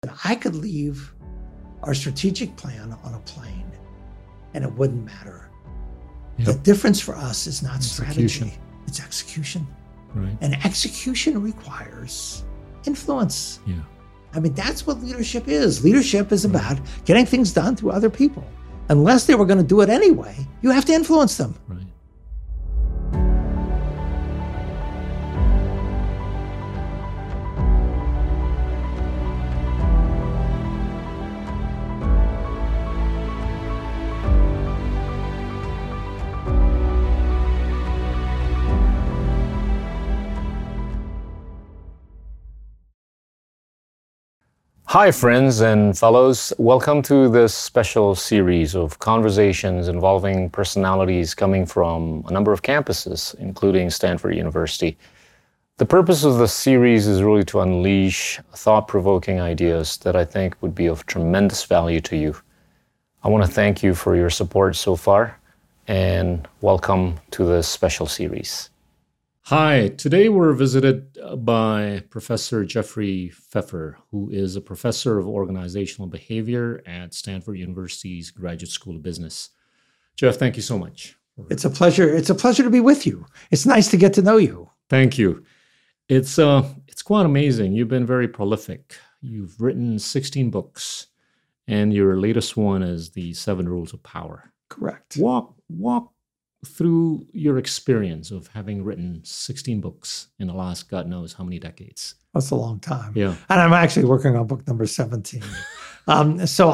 I could leave our strategic plan on a plane and it wouldn't matter. Yep. The difference for us is not strategy, it's execution. Right. And execution requires influence. Yeah. I mean, that's what leadership is. Leadership is about getting things done through other people. Unless they were going to do it anyway, you have to influence them. Right. Hi, friends and fellows. Welcome to this special series of conversations involving personalities coming from a number of campuses, including Stanford University. The purpose of this series is really to unleash thought-provoking ideas that I think would be of tremendous value to you. I want to thank you for your support so far, and welcome to this special series. Hi, today we're visited by Professor Jeffrey Pfeffer, who is a professor of organizational behavior at Stanford University's Graduate School of Business. Jeff, thank you so much. It's a pleasure. It's a pleasure to be with you. It's nice to get to know you. Thank you. It's quite amazing. You've been very prolific. You've written 16 books, and your latest one is The 7 Rules of Power. Correct. Walk through your experience of having written 16 books in the last God knows how many decades. That's a long time. Yeah. And I'm actually working on book number 17. I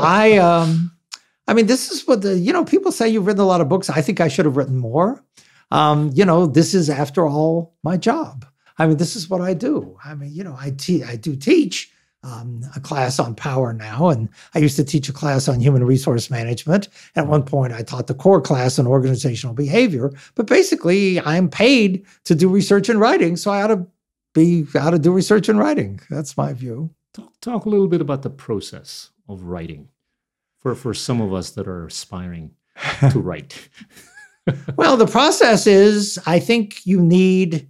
mean, this is what people say you've written a lot of books. I think I should have written more. This is, after all, my job. I mean, this is what I do. I mean, I do teach a class on power now, and I used to teach a class on human resource management. At one point, I taught the core class on organizational behavior. But basically, I'm paid to do research and writing, so I ought to do research and writing. That's my view. Talk a little bit about the process of writing for some of us that are aspiring to write. Well, the process is, I think you need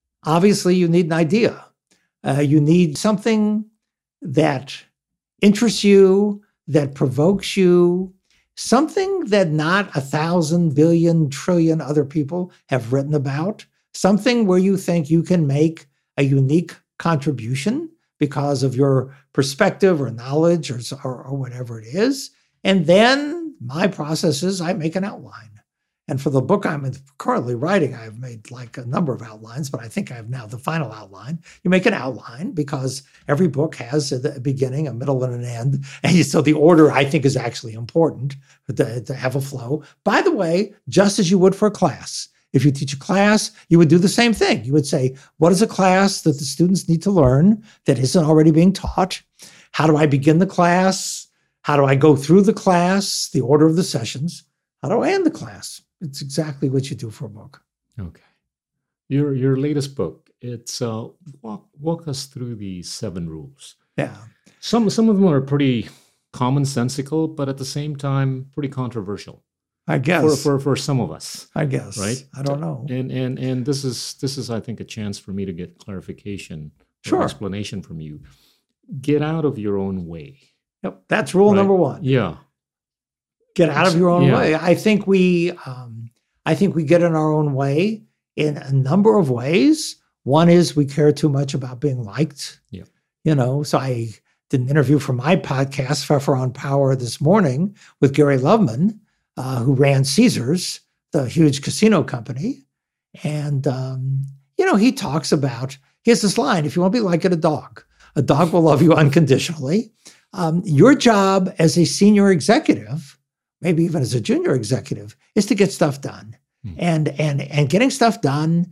an idea. You need something that interests you, that provokes you, something that not 1,000 billion trillion other people have written about, something where you think you can make a unique contribution because of your perspective or knowledge or whatever it is. And then my process is I make an outline. And for the book I'm currently writing, I've made like a number of outlines, but I think I have now the final outline. You make an outline because every book has a beginning, a middle, and an end. And so the order, I think, is actually important to have a flow. By the way, just as you would for a class. If you teach a class, you would do the same thing. You would say, what is a class that the students need to learn that isn't already being taught? How do I begin the class? How do I go through the class, the order of the sessions? How do I end the class? It's exactly what you do for a book. Okay. Your latest book, it's walk us through the 7 rules. Yeah. Some of them are pretty commonsensical, but at the same time, pretty controversial. I guess. For some of us. I guess. Right? I don't know. And this is I think a chance for me to get clarification or explanation from you. Get out of your own way. Yep. That's rule number 1. Yeah. Get out of your own way. I think we get in our own way in a number of ways. One is we care too much about being liked. Yeah. So I did an interview for my podcast, Pfeffer on Power, this morning with Gary Loveman, who ran Caesars, the huge casino company. And, he talks about, he has this line, if you want to be like a dog will love you unconditionally. Your job as a senior executive, maybe even as a junior executive, is to get stuff done. And getting stuff done,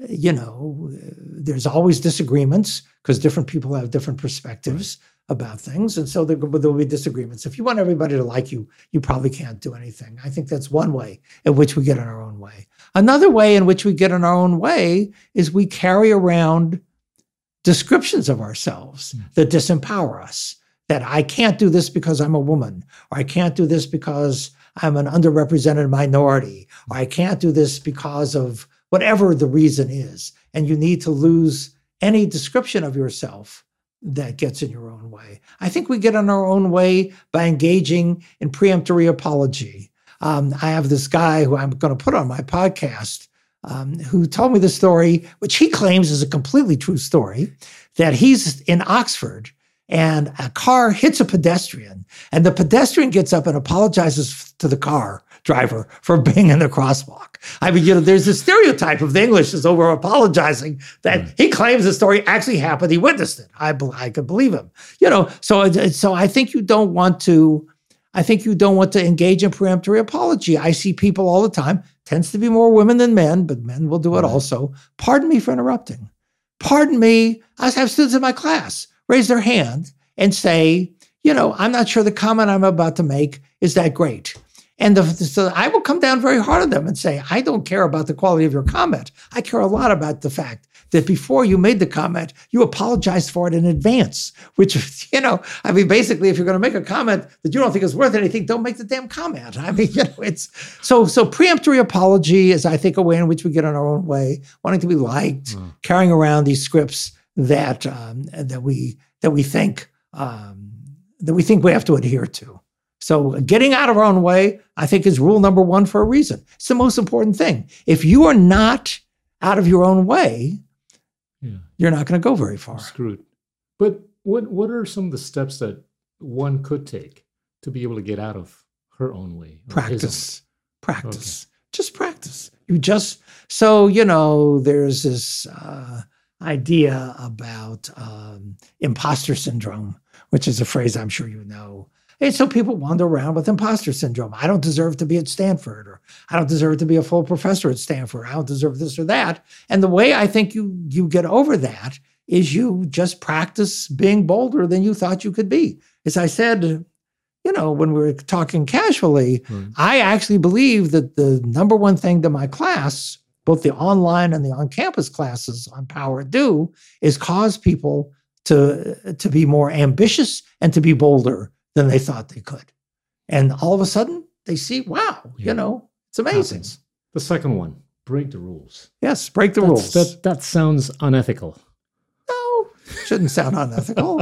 there's always disagreements because different people have different perspectives about things. And so there will be disagreements. If you want everybody to like you, you probably can't do anything. I think that's one way in which we get in our own way. Another way in which we get in our own way is we carry around descriptions of ourselves that disempower us. That I can't do this because I'm a woman, or I can't do this because I'm an underrepresented minority, or I can't do this because of whatever the reason is. And you need to lose any description of yourself that gets in your own way. I think we get in our own way by engaging in preemptory apology. I have this guy who I'm going to put on my podcast who told me the story, which he claims is a completely true story, that he's in Oxford and a car hits a pedestrian, and the pedestrian gets up and apologizes to the car driver for being in the crosswalk. I mean, there's this stereotype of the English is over apologizing that he claims the story actually happened. He witnessed it. I could believe him. So I think you don't want to. I think you don't want to engage in preemptory apology. I see people all the time. Tends to be more women than men, but men will do it also. Pardon me for interrupting. Pardon me. I have students in my class raise their hand and say, I'm not sure the comment I'm about to make is that great. And so I will come down very hard on them and say, I don't care about the quality of your comment. I care a lot about the fact that before you made the comment, you apologized for it in advance, which, basically, if you're going to make a comment that you don't think is worth anything, don't make the damn comment. I mean, it's so preemptory apology is, I think, a way in which we get in our own way, wanting to be liked, carrying around these scripts that we think we have to adhere to. So getting out of our own way, I think, is rule number one for a reason. It's the most important thing. If you are not out of your own way, you're not going to go very far. Screwed. But what are some of the steps that one could take to be able to get out of her own way? Practice. Okay. Just practice. There's this idea about imposter syndrome, which is a phrase I'm sure you know. And so people wander around with imposter syndrome. I don't deserve to be at Stanford, or I don't deserve to be a full professor at Stanford. I don't deserve this or that. And the way I think you get over that is you just practice being bolder than you thought you could be. As I said, when we were talking casually, I actually believe that the number one thing that my class, both the online and the on-campus classes on power do, is cause people to be more ambitious and to be bolder than they thought they could. And all of a sudden, they see, wow, it's amazing. Happens. The second one, break the rules. Yes, break the rules. That sounds unethical. No, shouldn't sound unethical.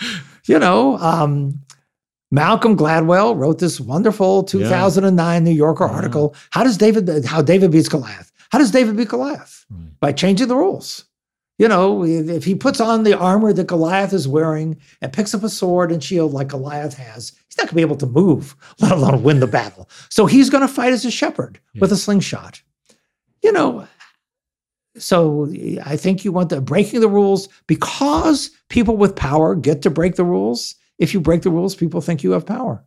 Malcolm Gladwell wrote this wonderful 2009 New Yorker article, How David beats Goliath. How does David beat Goliath? By changing the rules. If he puts on the armor that Goliath is wearing and picks up a sword and shield like Goliath has, he's not going to be able to move, let alone win the battle. So he's going to fight as a shepherd with a slingshot. So I think you want the breaking the rules because people with power get to break the rules. If you break the rules, people think you have power.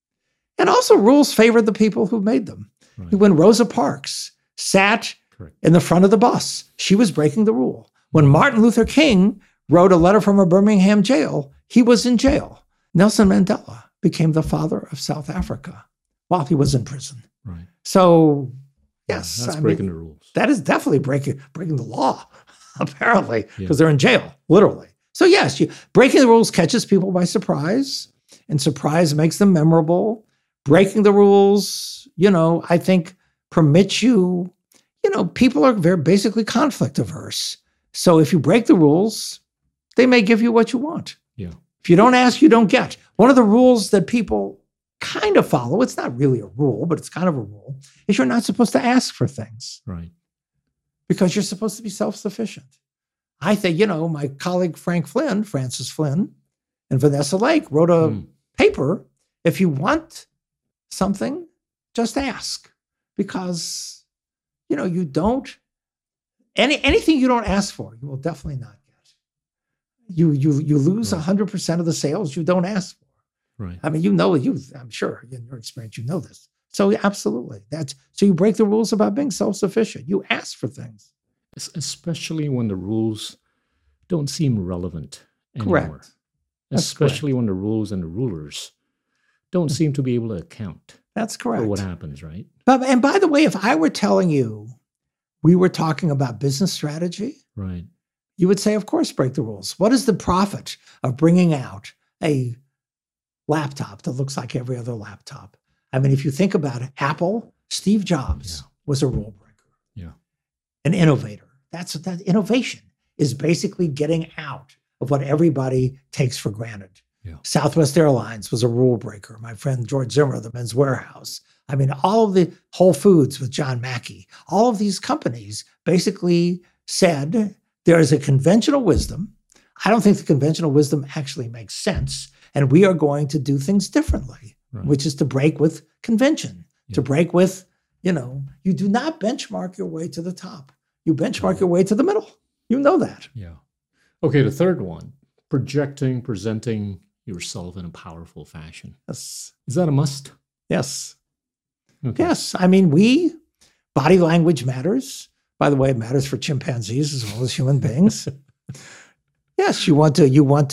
And also rules favor the people who made them. Right. When Rosa Parks sat in the front of the bus, she was breaking the rule. When Martin Luther King wrote a letter from a Birmingham jail, he was in jail. Nelson Mandela became the father of South Africa while he was in prison. Right. So, yes. That's breaking the rules. That is definitely breaking the law, apparently, because they're in jail, literally. So, yes, breaking the rules catches people by surprise, and surprise makes them memorable. Breaking the rules, I think permits you, people are very basically conflict averse. So if you break the rules, they may give you what you want. Yeah. If you don't ask, you don't get. One of the rules that people kind of follow, it's not really a rule, but it's kind of a rule, is you're not supposed to ask for things. Right. Because you're supposed to be self-sufficient. I think, my colleague Francis Flynn, and Vanessa Lake wrote a paper, if you want something, just ask. Because, you don't, anything you don't ask for, you will definitely not get. You lose 100% of the sales you don't ask for. Right. I mean, I'm sure in your experience, you know this. So absolutely. So you break the rules about being self-sufficient. You ask for things. Especially when the rules don't seem relevant anymore. Correct. Especially when the rules and the rulers don't seem to be able to account. That's correct. For what happens, right? And by the way, if I were telling you we were talking about business strategy, right, you would say, of course, break the rules. What is the profit of bringing out a laptop that looks like every other laptop? I mean, if you think about it, Apple, Steve Jobs was a rule breaker, an innovator. That innovation is basically getting out of what everybody takes for granted. Yeah. Southwest Airlines was a rule breaker. My friend George Zimmer, the Men's Warehouse. I mean, all of the Whole Foods with John Mackey, all of these companies basically said there is a conventional wisdom. I don't think the conventional wisdom actually makes sense. And we are going to do things differently, Right. which is to break with convention, Yeah. to break with, you do not benchmark your way to the top. You benchmark your way to the middle. You know that. Yeah. Okay, the third one, presenting yourself in a powerful fashion. Yes. Is that a must? Yes. Okay. Yes. I mean, body language matters. By the way, it matters for chimpanzees as well as human beings. Yes, you want to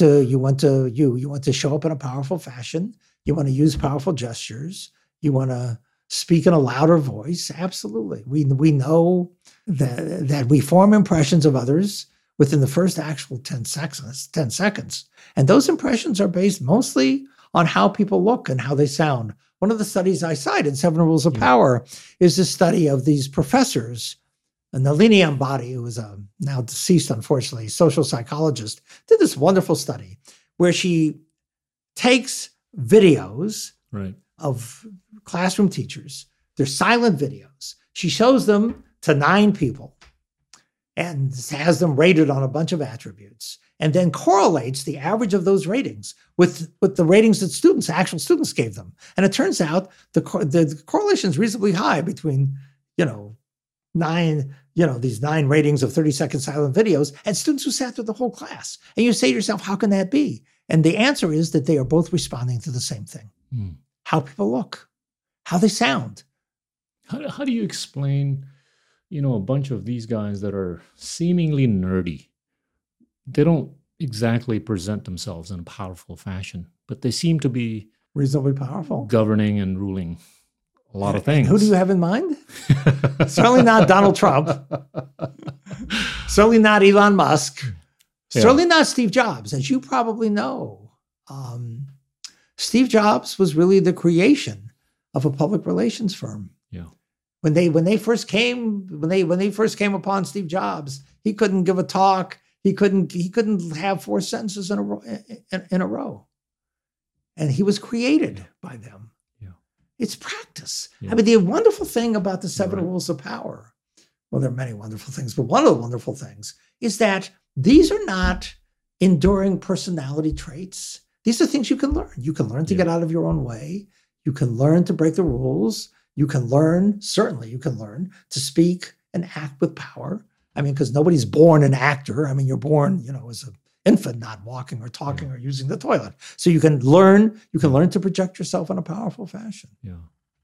show up in a powerful fashion. You want to use powerful gestures. You want to speak in a louder voice. Absolutely. We know that we form impressions of others within the first actual 10 seconds. And those impressions are based mostly on how people look and how they sound. One of the studies I cite in Seven Rules of Power is the study of these professors. Nalini Ambady, who is now deceased, unfortunately, social psychologist, did this wonderful study where she takes videos Right. of classroom teachers. They're silent videos. She shows them to 9 people and has them rated on a bunch of attributes, and then correlates the average of those ratings with the ratings that actual students gave them. And it turns out the correlation is reasonably high between, these 9 ratings of 30-second silent videos and students who sat through the whole class. And you say to yourself, how can that be? And the answer is that they are both responding to the same thing. How people look, how they sound. How do you explain, a bunch of these guys that are seemingly nerdy? They don't exactly present themselves in a powerful fashion, but they seem to be Reasonably powerful. governing and ruling a lot of things. Who do you have in mind? Certainly not Donald Trump. Certainly not Elon Musk. Certainly not Steve Jobs. As you probably know, Steve Jobs was really the creation of a public relations firm. Yeah. When they first came upon Steve Jobs, he couldn't give a talk. He couldn't have 4 sentences in a row. And he was created by them. Yeah. It's practice. Yeah. I mean, the wonderful thing about the 7 Right. rules of power, well, there are many wonderful things, but one of the wonderful things is that these are not enduring personality traits. These are things you can learn. You can learn to get out of your own way. You can learn to break the rules. You can learn to speak and act with power. I mean, because nobody's born an actor. I mean, you're born, as an infant, not walking or talking or using the toilet. So you can learn to project yourself in a powerful fashion. Yeah.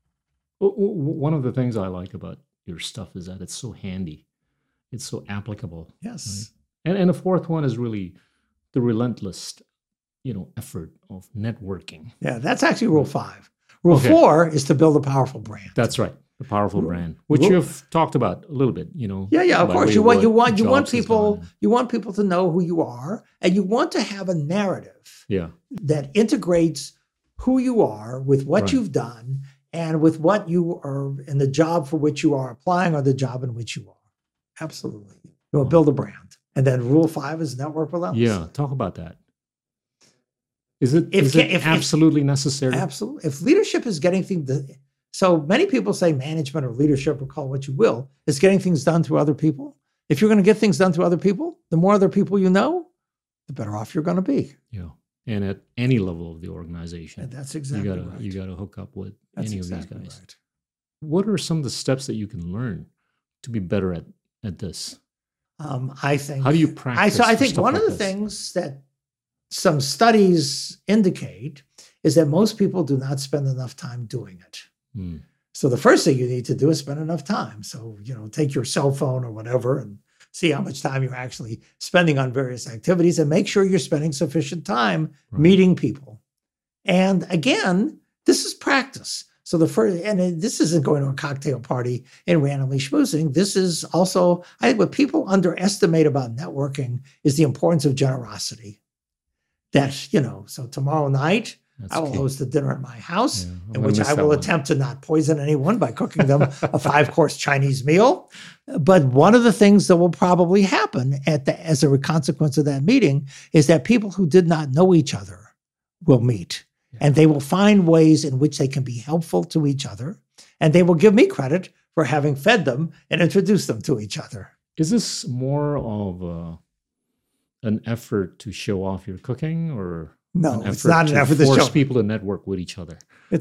One of the things I like about your stuff is that it's so handy. It's so applicable. Yes. Right? And the fourth one is really the relentless, effort of networking. Yeah, that's actually rule 5. Rule Okay. 4 is to build a powerful brand. That's right. The powerful brand, which Rule- you've talked about a little bit, Yeah, of by course. way You of want what people Jobs has done. you want people to know who you are, and you want to have a narrative Yeah. that integrates who you are with what Right. you've done and with what you are in the job for which you are applying or the job in which you are. Absolutely. You want to build a brand. And then rule 5 is network relentless. Yeah. Talk about that. Is it If- if- absolutely necessary? Absolutely. If leadership is getting things, so many people say management or leadership, or call it what you will, is getting things done through other people. If you're going to get things done through other people, the more other people you know, the better off you're going to be. Yeah. And at any level of the organization, And that's exactly right. you gotta hook up with That's any exactly of these guys. right. What are some of the steps that you can learn to be better at this? I think. How do you practice? I for think stuff one like of the this? things that some studies indicate is that most people do not spend enough time doing it. Hmm. So the first thing you need to do is spend enough time. So, take your cell phone or whatever and see how much time you're actually spending on various activities, and make sure you're spending sufficient time Right. meeting people. And again, this is practice. So this isn't going to a cocktail party and randomly schmoozing. This is also, I think what people underestimate about networking is the importance of generosity. That, so tomorrow night, That's I will key. host a dinner at my house, Yeah, I'm in gonna which miss I that will one. attempt to not poison anyone by cooking them a 5-course Chinese meal. But one of the things that will probably happen as a consequence of that meeting is that people who did not know each other will meet, and they will find ways in which they can be helpful to each other, and they will give me credit for having fed them and introduced them to each other. Is this more of an effort to show off your cooking, or No, an it's not an effort to force show. people to network with each other? It's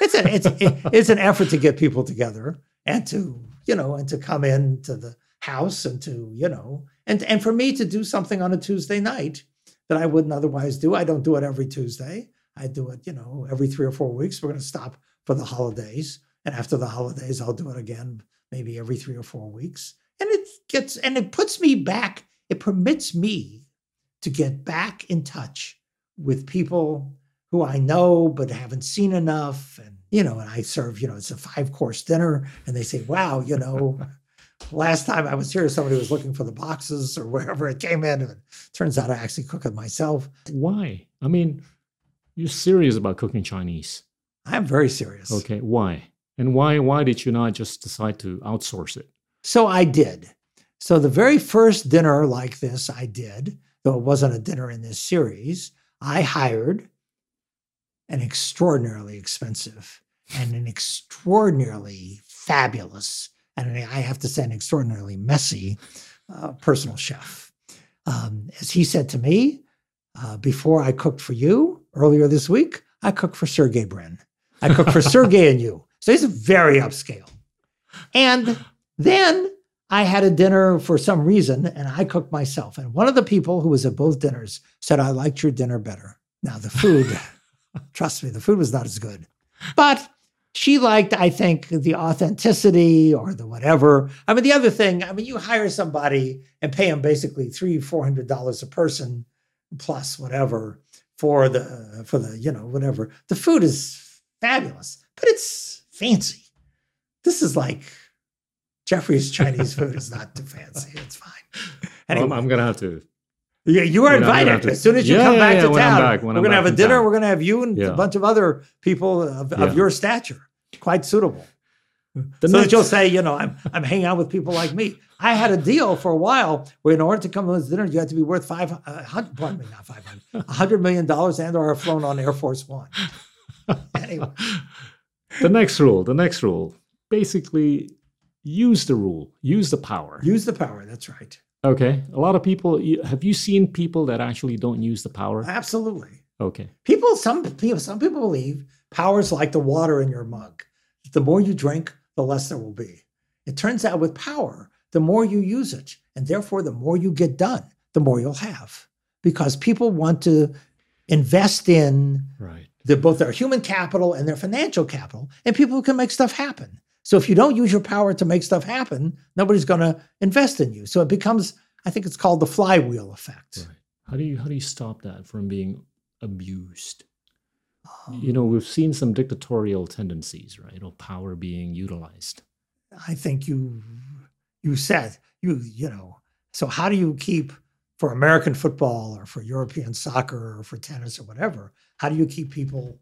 an effort to get people together and to come into the house and and for me to do something on a Tuesday night that I wouldn't otherwise do. I don't do it every Tuesday. I do it, every 3 or 4 weeks. We're going to stop for the holidays, and after the holidays, I'll do it again, maybe every 3 or 4 weeks. And it puts me back. It permits me to get back in touch with people who I know but haven't seen enough. And, and I serve, it's a 5-course dinner, and they say, wow, last time I was here, somebody was looking for the boxes or wherever it came in. And it turns out I actually cook it myself. Why? I mean, you're serious about cooking Chinese. I'm very serious. Okay, why? And why did you not just decide to outsource it? So I did. So the very first dinner like this I did, though it wasn't a dinner in this series, I hired an extraordinarily expensive and an extraordinarily fabulous, and I have to say an extraordinarily messy personal chef. As he said to me, before I cooked for you earlier this week, I cooked for Sergey Brin. I cooked for Sergey and you. So he's very upscale. And then I had a dinner for some reason, and I cooked myself. And one of the people who was at both dinners said, I liked your dinner better. Now, the food, trust me, the food was not as good. But she liked, I think, the authenticity or the whatever. I mean, the other thing, you hire somebody and pay them basically $300-400 a person plus whatever for the whatever. The food is fabulous, but it's fancy. This is like Jeffrey's Chinese food is not too fancy. It's fine. Anyway, I'm going to have to. Yeah, you are I'm gonna have invited. to- As soon as you Yeah, come yeah, back yeah, to when I'm town, back- when we're I'm going to have back a in dinner. town. We're going to have you and Yeah. a bunch of other people of Yeah. your stature. Quite suitable. The So next- that you'll say, I'm hanging out with people like me. I had a deal for a while where in order to come to this dinner, you had to be worth $100 million and or have flown on Air Force One. Anyway, The next rule. Basically, use the rule, use the power. use the power. That's right. Okay. A lot of people, have you seen people that actually don't use the power? Absolutely. Okay. Some people believe power is like the water in your mug. The more you drink, the less there will be. It turns out with power, the more you use it, and therefore the more you get done, the more you'll have. Because people want to invest in Right. both their human capital and their financial capital, and people who can make stuff happen. So if you don't use your power to make stuff happen, nobody's going to invest in you. So it becomes, I think it's called the flywheel effect. Right. How do you stop that from being abused? Um, We've seen some dictatorial tendencies, right? Of power being utilized. I think you said, so how do you keep, for American football or for European soccer or for tennis or whatever, how do you keep people,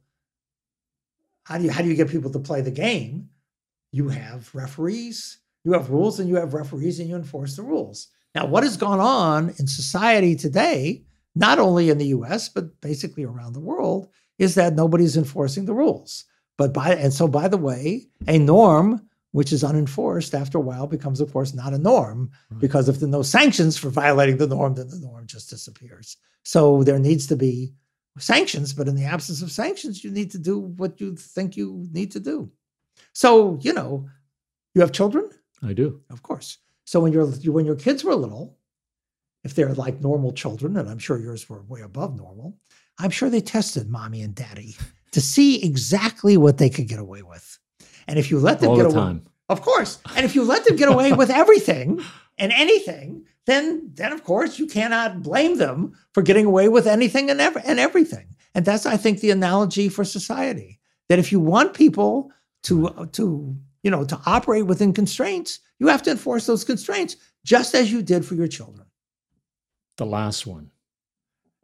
how do you get people to play the game? You have referees, you have rules, and you have referees, and you enforce the rules. Now, what has gone on in society today, not only in the US, but basically around the world, is that nobody's enforcing the rules. So by the way, a norm which is unenforced after a while becomes, of course, not a norm, because if there are no sanctions for violating the norm, then the norm just disappears. So there needs to be sanctions, but in the absence of sanctions, you need to do what you think you need to do. So, you have children? I do. Of course. So when your kids were little, if they're like normal children, and I'm sure yours were way above normal, I'm sure they tested mommy and daddy to see exactly what they could get away with. And if you let them All get the away, time. of course, and if you let them get away with everything and anything, then of course you cannot blame them for getting away with anything and everything. And that's, I think, the analogy for society. That if you want people to operate within constraints, you have to enforce those constraints, just as you did for your children. The last one.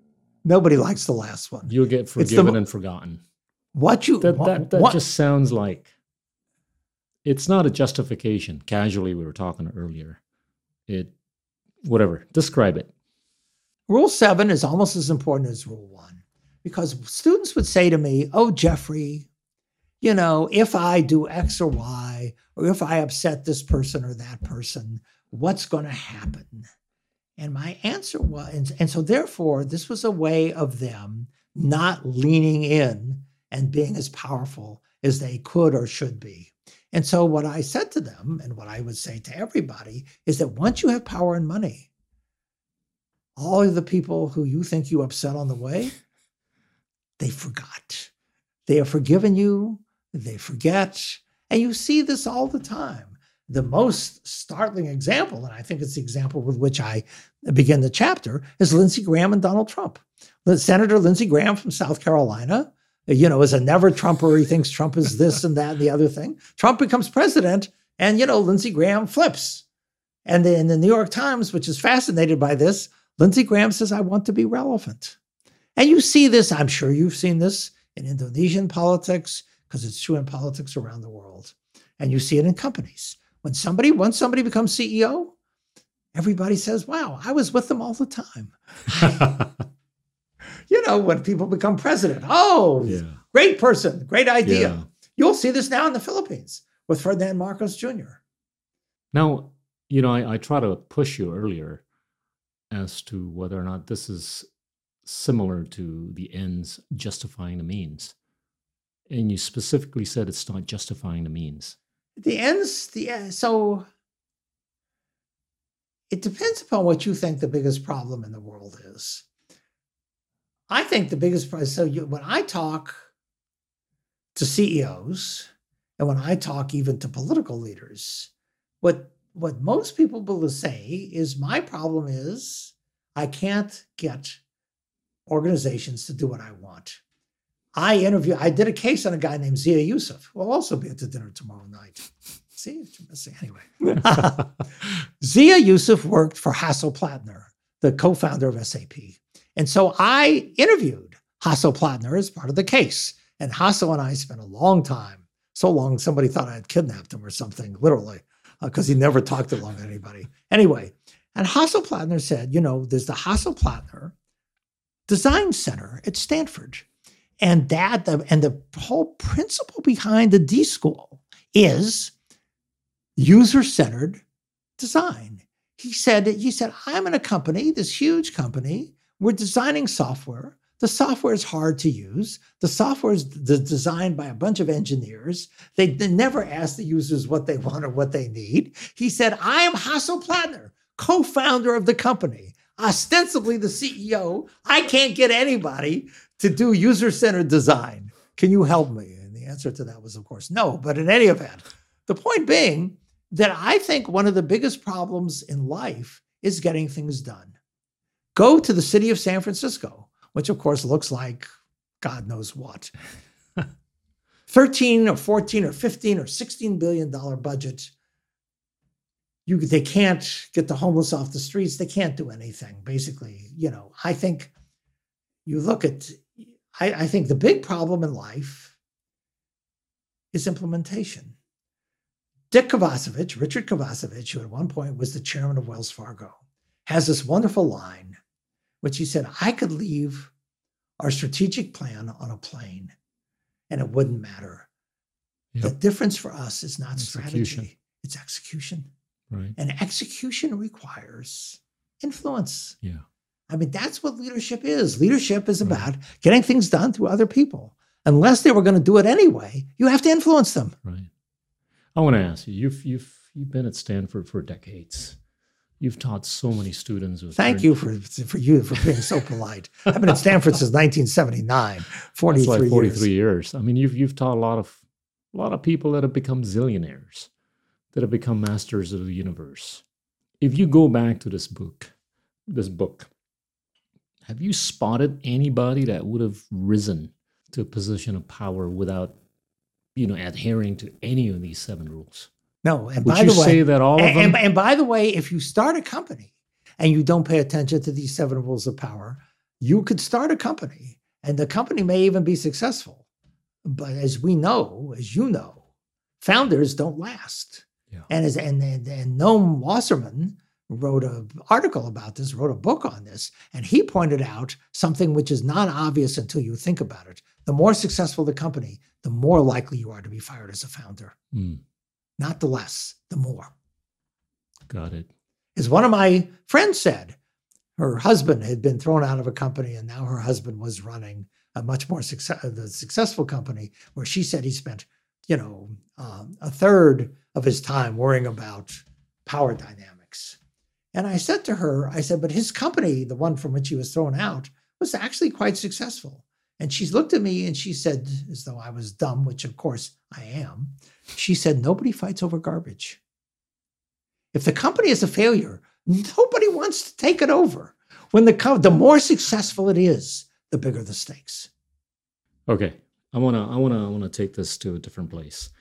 Nobody likes the last one. You'll get forgiven and forgotten. That just sounds like it's not a justification. Casually, we were talking earlier. Whatever. Describe it. Rule 7 is almost as important as Rule 1 because students would say to me, oh, Jeffrey, if I do X or Y, or if I upset this person or that person, what's going to happen? And my answer was, and so therefore, this was a way of them not leaning in and being as powerful as they could or should be. And so what I said to them, and what I would say to everybody, is that once you have power and money, all of the people who you think you upset on the way, they forgot. They have forgiven you, they forget, and you see this all the time. The most startling example, and I think it's the example with which I begin the chapter, is Lindsey Graham and Donald Trump. Senator Lindsey Graham from South Carolina, is a never Trumper. He thinks Trump is this and that and the other thing. Trump becomes president, and, Lindsey Graham flips. And in the New York Times, which is fascinated by this, Lindsey Graham says, I want to be relevant. And you see this, I'm sure you've seen this in Indonesian politics, because it's true in politics around the world. And you see it in companies. Once somebody becomes CEO, everybody says, wow, I was with them all the time. When people become president, great person, great idea. Yeah. You'll see this now in the Philippines with Ferdinand Marcos Jr. Now, I try to push you earlier as to whether or not this is similar to the ends justifying the means. And you specifically said it's not justifying the means. So it depends upon what you think the biggest problem in the world is. I think the biggest problem, when I talk to CEOs and when I talk even to political leaders, what most people will say is my problem is I can't get organizations to do what I want. I did a case on a guy named Zia Yusuf. We'll also be at the dinner tomorrow night. See, anyway. Zia Yusuf worked for Hasso Plattner, the co-founder of SAP. And so I interviewed Hasso Plattner as part of the case. And Hasso and I spent a long time, so long somebody thought I had kidnapped him or something, literally, because he never talked too long to anybody. Anyway, and Hasso Plattner said, there's the Hasso Plattner Design Center at Stanford. And the whole principle behind the D School is user-centered design. He said, I'm in a company, this huge company. We're designing software. The software is hard to use. The software is designed by a bunch of engineers. They never ask the users what they want or what they need. He said, I am Hasso Plattner, co-founder of the company, ostensibly the CEO. I can't get anybody to do user-centered design. Can you help me? And the answer to that was, of course, no. But in any event, the point being that I think one of the biggest problems in life is getting things done. Go to the city of San Francisco, which of course looks like God knows what. 13 or 14 or 15 or $16 billion budget. They can't get the homeless off the streets. They can't do anything, basically. I think you look at, I think the big problem in life is implementation. Richard Kovacevic, who at one point was the chairman of Wells Fargo, has this wonderful line, which he said, I could leave our strategic plan on a plane and it wouldn't matter. Yep. The difference for us is not strategy, it's execution. Right. And execution requires influence. Yeah. I mean, that's what leadership is. Leadership is about getting things done through other people. Unless they were going to do it anyway, you have to influence them. Right. I want to ask you, you've been at Stanford for decades. You've taught so many students. Thank you for being so polite. I've been at Stanford since 1979, 43 That's like 43 years. years. I mean, you've taught a lot of people that have become zillionaires, that have become masters of the universe. If you go back to this book, have you spotted anybody that would have risen to a position of power without, adhering to any of these 7 rules? No, and would by you the way, say that all of them? And by the way, if you start a company and you don't pay attention to these 7 rules of power, you could start a company and the company may even be successful. But as we know, as you know, founders don't last. Yeah. And Noam Wasserman wrote an article about this, wrote a book on this, and he pointed out something which is not obvious until you think about it. The more successful the company, the more likely you are to be fired as a founder. Not the less, the more. Got it. As one of my friends said, her husband had been thrown out of a company and now her husband was running a much more successful company where she said he spent, a third of his time worrying about power dynamics. And I said to her, but his company, the one from which he was thrown out, was actually quite successful. And she looked at me and she said, as though I was dumb, which of course I am, she said, nobody fights over garbage. If the company is a failure, nobody wants to take it over. When the more successful it is, the bigger the stakes. Okay, I wanna take this to a different place.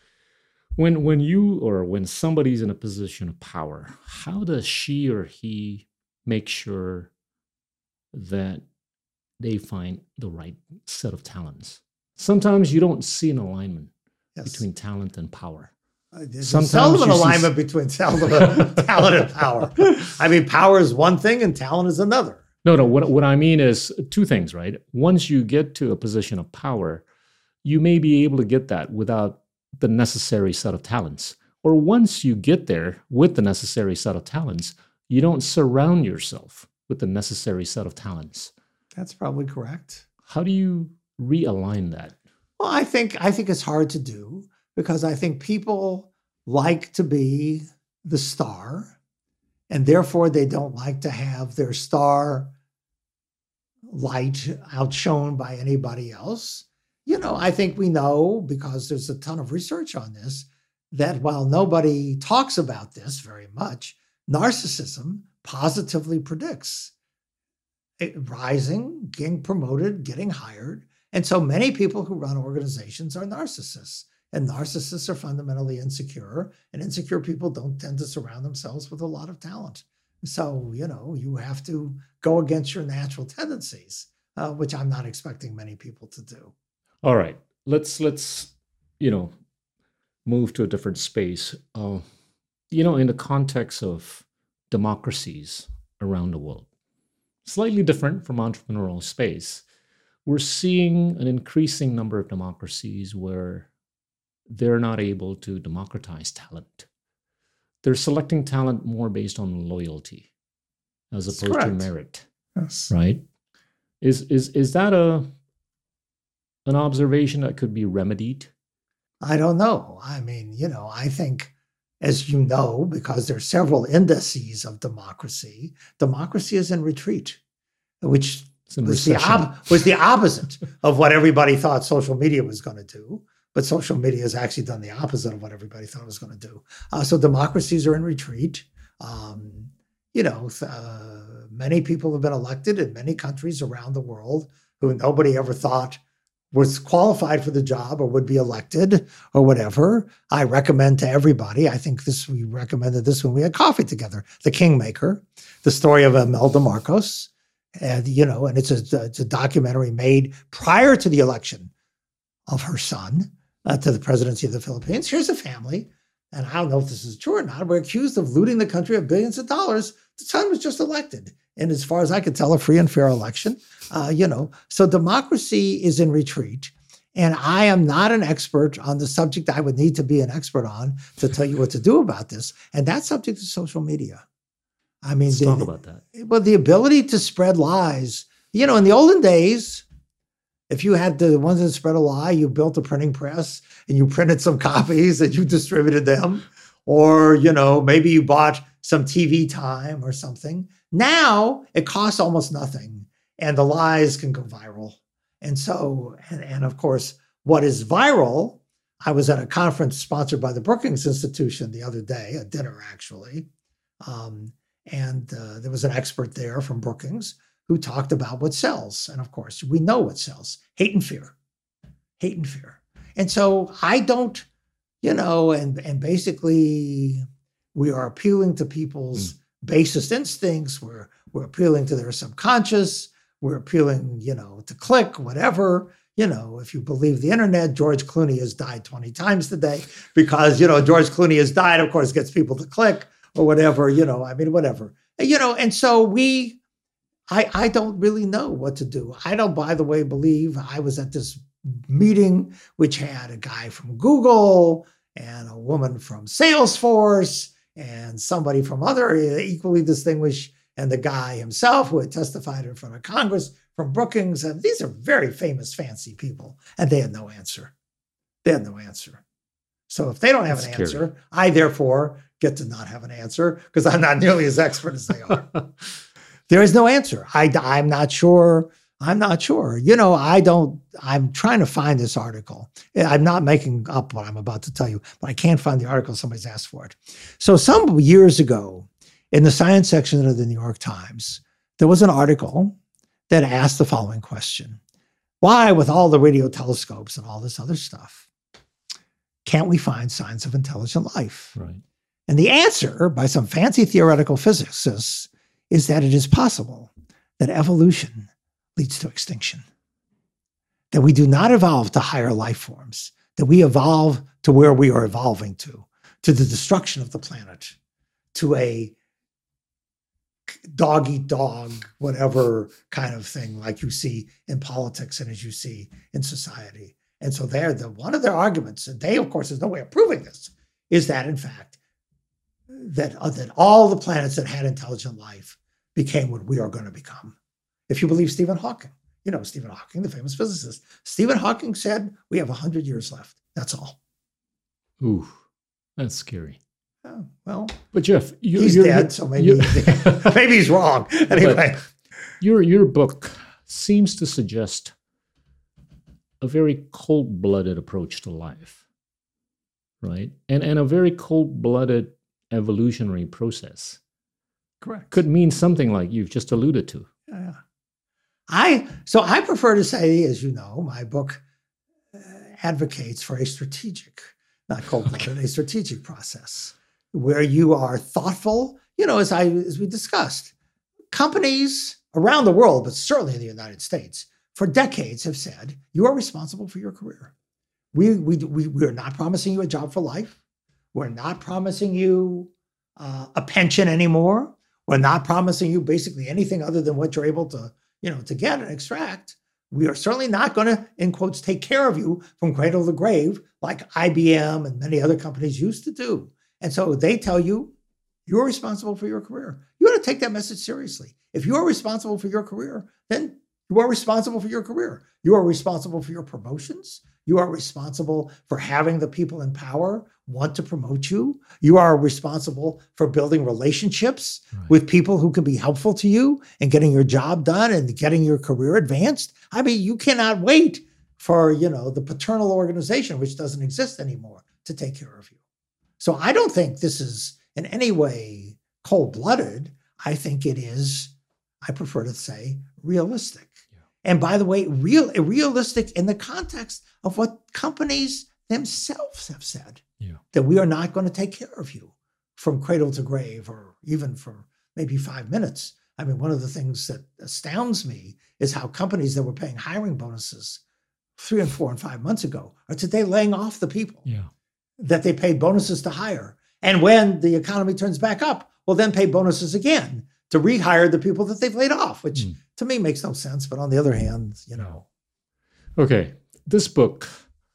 When somebody's in a position of power, how does she or he make sure that they find the right set of talents? Sometimes you don't see an alignment between talent and power. There's seldom an alignment between talent and power. I mean, power is one thing and talent is another. No. What I mean is two things, right? Once you get to a position of power, you may be able to get that without the necessary set of talents. Or once you get there with the necessary set of talents, you don't surround yourself with the necessary set of talents. That's probably correct. How do you realign that? Well, I think it's hard to do because I think people like to be the star, and therefore they don't like to have their star light outshone by anybody else. I think we know, because there's a ton of research on this, that while nobody talks about this very much, narcissism positively predicts rising, getting promoted, getting hired. And so many people who run organizations are narcissists. And narcissists are fundamentally insecure, and insecure people don't tend to surround themselves with a lot of talent. So, you have to go against your natural tendencies, which I'm not expecting many people to do. All right, let's move to a different space. In the context of democracies around the world, slightly different from entrepreneurial space, we're seeing an increasing number of democracies where they're not able to democratize talent. They're selecting talent more based on loyalty as opposed to merit. Yes. Right? Is that an observation that could be remedied? I don't know. I mean, I think, as you know, because there are several indices of democracy is in retreat, which was the opposite of what everybody thought social media was going to do. But social media has actually done the opposite of what everybody thought it was going to do. So democracies are in retreat. Many people have been elected in many countries around the world who nobody ever thought was qualified for the job or would be elected or whatever. I recommend to everybody, we recommended this when we had coffee together, The Kingmaker, the story of Imelda Marcos. And it's a documentary made prior to the election of her son to the presidency of the Philippines. Here's a family, and I don't know if this is true or not, we're accused of looting the country of billions of dollars. The son was just elected. And as far as I could tell, a free and fair election. So democracy is in retreat. And I am not an expert on the subject I would need to be an expert on to tell you what to do about this. And that subject is social media. I mean, let's talk about that. Well, the ability to spread lies. In the olden days, if you had the ones that spread a lie, you built a printing press and you printed some copies and you distributed them. Or, maybe you bought some TV time or something. Now it costs almost nothing and the lies can go viral. And so, and of course, what is viral, I was at a conference sponsored by the Brookings Institution the other day, a dinner actually. And there was an expert there from Brookings who talked about what sells. And of course, we know what sells: hate and fear. And so I don't, and basically we are appealing to people's basest instincts. We're appealing to their subconscious. we're appealing, to click, whatever. If you believe the internet, George Clooney has died 20 times today because, George Clooney has died, of course, gets people to click or whatever, whatever. And so I don't really know what to do. I don't, by the way, believe I was at this meeting, which had a guy from Google and a woman from Salesforce and somebody from other equally distinguished, and the guy himself who had testified in front of Congress from Brookings. And these are very famous, fancy people. And they had no answer. So if they don't have an answer, I therefore get to not have an answer because I'm not nearly as expert as they are. There is no answer. I'm not sure. I'm trying to find this article. I'm not making up what I'm about to tell you, but I can't find the article. Somebody's asked for it. So some years ago, in the science section of the New York Times, there was an article that asked the following question: why, with all the radio telescopes and all this other stuff, can't we find signs of intelligent life? Right. And the answer by some fancy theoretical physicists is that it is possible that evolution leads to extinction, that we do not evolve to higher life forms, that we evolve to where we are evolving to the destruction of the planet, to a dog eat dog, whatever kind of thing like you see in politics and as you see in society. And so one of their arguments, and they, of course, there's no way of proving this, is that in fact, that all the planets that had intelligent life became what we are going to become. If you believe Stephen Hawking, Stephen Hawking, the famous physicist, Stephen Hawking said, we have 100 years left. That's all. Ooh, that's scary. Oh, well, but Jeff, he's dead, so maybe he's wrong. Anyway, your book seems to suggest a very cold-blooded approach to life, right? And a very cold-blooded evolutionary process. Correct. Could mean something like you've just alluded to. Yeah. I prefer to say, as you know, my book advocates for a strategic, not cold-blooded, a strategic process where you are thoughtful. As we discussed, companies around the world, but certainly in the United States, for decades have said, you are responsible for your career. We are not promising you a job for life. We're not promising you a pension anymore. We're not promising you basically anything other than what you're able to, to get and extract. We are certainly not going to, in quotes, take care of you from cradle to grave like IBM and many other companies used to do. And so they tell you, you're responsible for your career. You ought to take that message seriously. If you are responsible for your career, then you are responsible for your career. You are responsible for your promotions. You are responsible for having the people in power want to promote you. You are responsible for building relationships with people who can be helpful to you and getting your job done and getting your career advanced. I mean, you cannot wait for, the paternal organization, which doesn't exist anymore, to take care of you. So I don't think this is in any way cold-blooded. I think it is, I prefer to say, realistic. Yeah. And by the way, realistic in the context of what companies themselves have said, that we are not going to take care of you from cradle to grave or even for maybe 5 minutes. I mean, one of the things that astounds me is how companies that were paying hiring bonuses 3 and 4 and 5 months ago are today laying off the people that they paid bonuses to hire. And when the economy turns back up, well, then pay bonuses again to rehire the people that they've laid off, which to me makes no sense. But on the other hand, Okay, this book,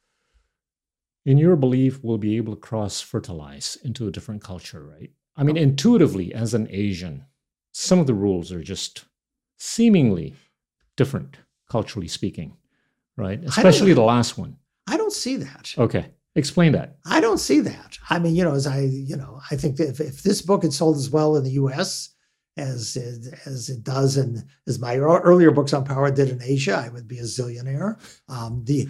in your belief, will be able to cross-fertilize into a different culture, right? I mean, intuitively, as an Asian, some of the rules are just seemingly different, culturally speaking, right? Especially the last one. I don't see that. Okay. Explain that. I don't see that. I mean, I think that if this book had sold as well in the U.S. as it does and as my earlier books on power did in Asia, I would be a zillionaire. The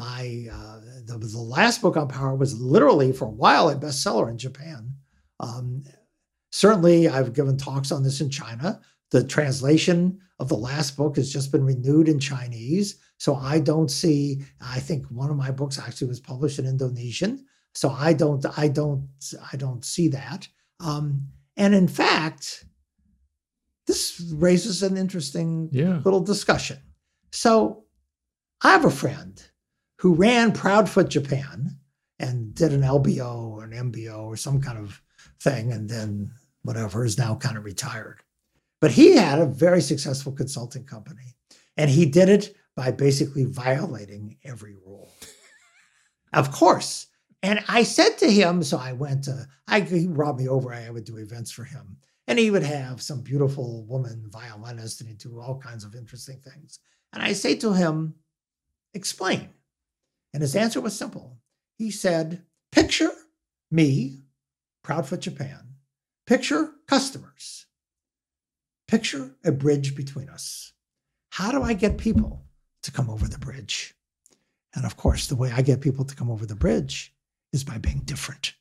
last book on power was literally for a while a bestseller in Japan. Certainly, I've given talks on this in China. The translation of the last book has just been renewed in Chinese. So I think one of my books actually was published in Indonesian. So I don't see that. And in fact, this this raises an interesting Yeah. little discussion. So I have a friend who ran Proudfoot Japan and did an LBO or an MBO or some kind of thing, and then whatever, is now kind of retired. But he had a very successful consulting company, and he did it by basically violating every rule. Of course. And I said to him, so I went to, he brought me over, I would do events for him. And he would have some beautiful woman violinist, and he'd do all kinds of interesting things. And I say to him, explain. And his answer was simple. He said, picture me, Proudfoot Japan, picture customers, picture a bridge between us. How do I get people to come over the bridge? And of course, the way I get people to come over the bridge is by being different,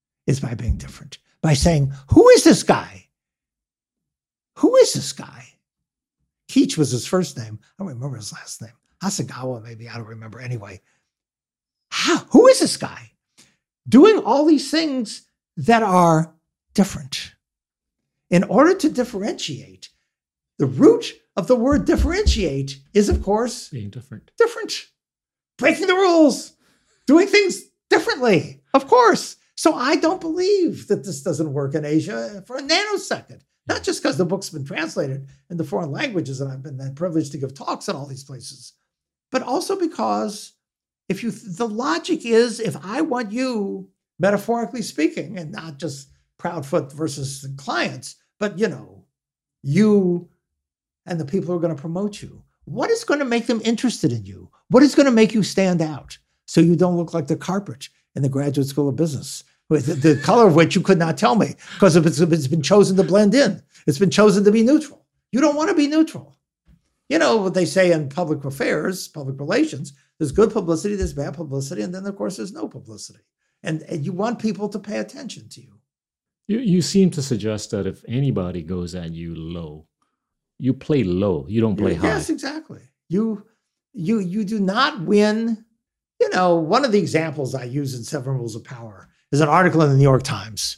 by saying, who is this guy? Who is this guy? Keach was his first name. I don't remember his last name. Hasegawa, maybe, I don't remember. Anyway, who is this guy? Doing all these things that are different. In order to differentiate, the root of the word differentiate is, of course, Being different. different. Breaking the rules, doing things differently, of course. So I don't believe that this doesn't work in Asia for a nanosecond. Not just because the book's been translated into foreign languages and I've been privileged to give talks in all these places, but also because the logic is, if I want you, metaphorically speaking, and not just Proudfoot versus the clients, but you and the people who are going to promote you, what is going to make them interested in you? What is going to make you stand out so you don't look like the carpet in the Graduate School of Business, with the color of which you could not tell me because it's been chosen to blend in. It's been chosen to be neutral. You don't want to be neutral. You know what they say in public affairs, public relations, there's good publicity, there's bad publicity, and then, of course, there's no publicity. And you want people to pay attention to you. You seem to suggest that if anybody goes at you low, you play low. You don't play high. Yes, exactly. You do not win. One of the examples I use in Seven Rules of Power is an article in the New York Times,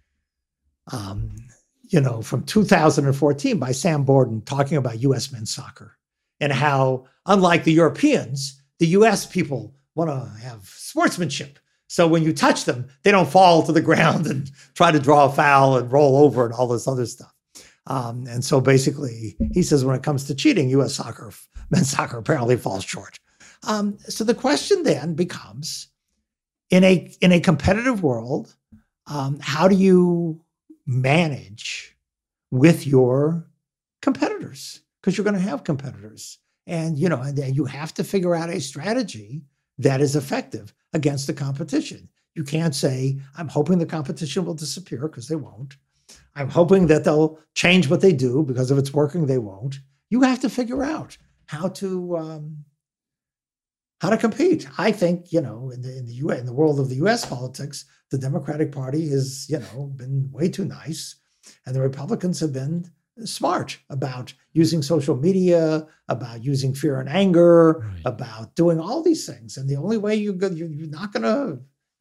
from 2014 by Sam Borden, talking about U.S. men's soccer and how, unlike the Europeans, the U.S. people want to have sportsmanship. So when you touch them, they don't fall to the ground and try to draw a foul and roll over and all this other stuff. And so basically, he says when it comes to cheating, U.S. soccer, men's soccer apparently falls short. So the question then becomes, in a competitive world, how do you manage with your competitors? Because you're going to have competitors, and you have to figure out a strategy that is effective against the competition. You can't say, I'm hoping the competition will disappear, because they won't. I'm hoping that they'll change what they do, because if it's working, they won't. You have to figure out how to compete. I think, in the world of the U.S. politics, the Democratic Party has, been way too nice, and the Republicans have been smart about using social media, about using fear and anger, Right. about doing all these things. And the only way you're not gonna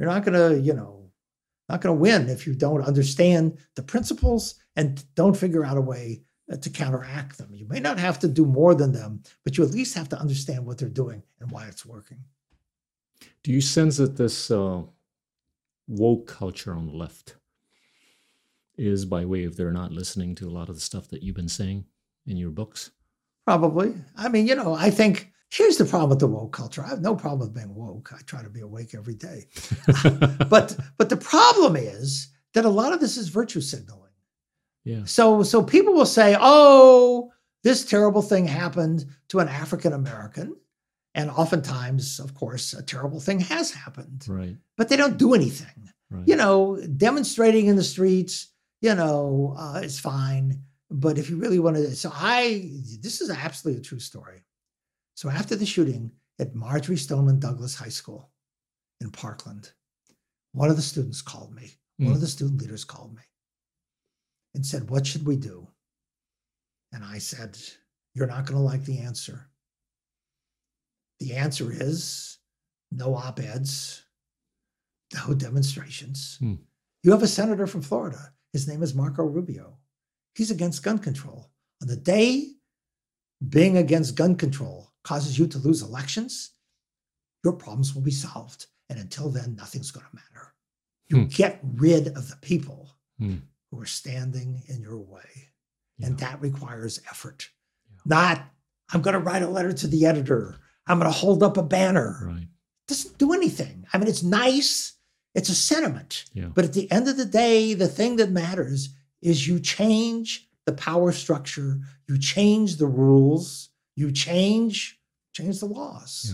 win if you don't understand the principles and don't figure out a way to counteract them. You may not have to do more than them, but you at least have to understand what they're doing and why it's working. Do you sense that this woke culture on the left is by way of they're not listening to a lot of the stuff that you've been saying in your books? Probably. I mean, I think here's the problem with the woke culture. I have no problem with being woke. I try to be awake every day. But the problem is that a lot of this is virtue signaling. Yeah. So people will say, oh, this terrible thing happened to an African American. And oftentimes, of course, a terrible thing has happened. Right. But they don't do anything. Right. Demonstrating in the streets, is fine. But if you really want to, this is absolutely a true story. So after the shooting at Marjorie Stoneman Douglas High School in Parkland, one of the students called me. One of the student leaders called me and said, what should we do? And I said, you're not going to like the answer. The answer is no op-eds, no demonstrations. You have a senator from Florida. His name is Marco Rubio. He's against gun control. On the day being against gun control causes you to lose elections, your problems will be solved. And until then, nothing's going to matter. You get rid of the people who are standing in your way. Yeah. And that requires effort. Yeah. Not, I'm going to write a letter to the editor. I'm going to hold up a banner. Right. It doesn't do anything. I mean, it's nice. It's a sentiment. Yeah. But at the end of the day, the thing that matters is you change the power structure. You change the rules. You change the laws. Yeah.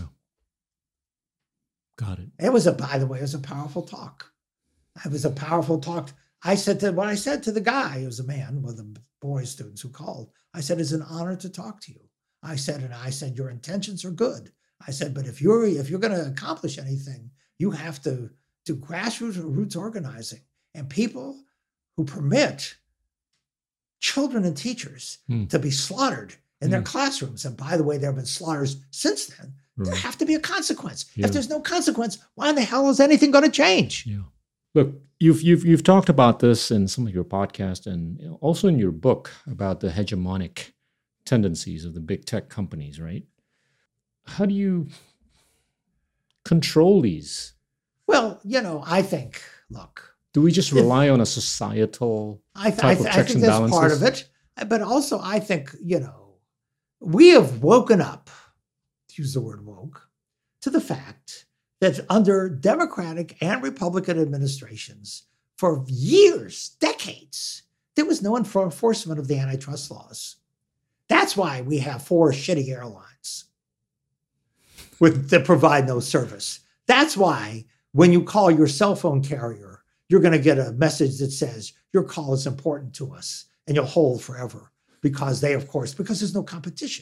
Got it. By the way, it was a powerful talk. It was a powerful talk. I said to the guy, who was a man, one of the boy students who called, I said, it's an honor to talk to you. I said, your intentions are good. I said, but if you're going to accomplish anything, you have to do grassroots organizing, and people who permit children and teachers to be slaughtered in their classrooms. And by the way, there have been slaughters since then. There have to be a consequence. Yeah. If there's no consequence, why in the hell is anything going to change? Yeah. Look, you've talked about this in some of your podcasts and also in your book about the hegemonic tendencies of the big tech companies, right? How do you control these? Well, I think, look. Do we just rely on a societal type of checks and balances? I think that's part of it. But also, I think, we have woken up, to use the word woke, to the fact that under Democratic and Republican administrations for years, decades, there was no enforcement of the antitrust laws. That's why we have 4 shitty airlines that provide no service. That's why when you call your cell phone carrier, you're going to get a message that says your call is important to us, and you'll hold forever because there's no competition.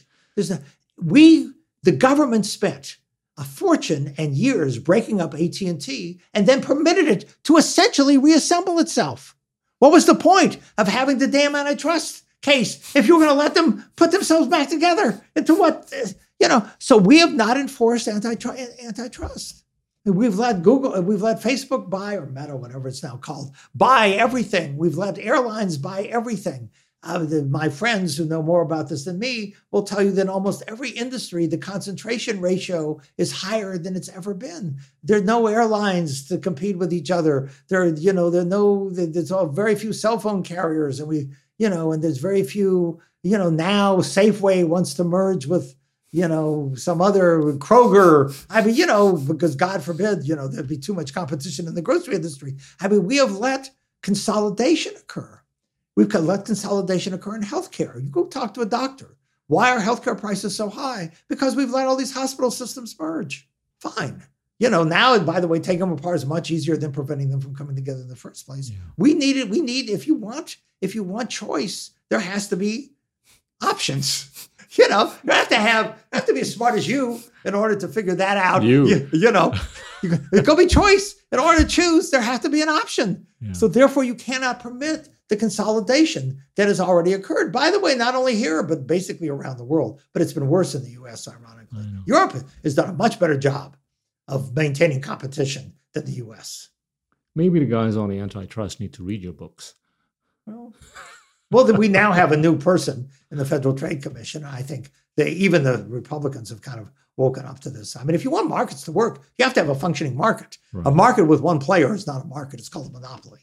The government spent a fortune and years breaking up AT&T and then permitted it to essentially reassemble itself. What was the point of having the damn antitrust case if you were going to let them put themselves back together into what, So we have not enforced antitrust. We've let Facebook buy, or Meta, whatever it's now called, buy everything. We've let airlines buy everything. My friends who know more about this than me will tell you that in almost every industry, the concentration ratio is higher than it's ever been. There are no airlines to compete with each other. There's very few cell phone carriers, and and there's very few, now Safeway wants to merge with, some other Kroger. Because God forbid, there'd be too much competition in the grocery industry. We have let consolidation occur. We've let consolidation occur in healthcare. You go talk to a doctor. Why are healthcare prices so high? Because we've let all these hospital systems merge. Fine. Now, by the way, taking them apart is much easier than preventing them from coming together in the first place. Yeah. We need, if you want choice, there has to be options. You have to be as smart as you in order to figure that out. There's going to be choice. In order to choose, there has to be an option. Yeah. So therefore, you cannot permit the consolidation that has already occurred. By the way, not only here, but basically around the world. But it's been worse in the U.S., ironically. Europe has done a much better job of maintaining competition than the U.S. Maybe the guys on the antitrust need to read your books. Well, we now have a new person in the Federal Trade Commission. I think even the Republicans have kind of woken up to this. If you want markets to work, you have to have a functioning market. Right. A market with one player is not a market. It's called a monopoly.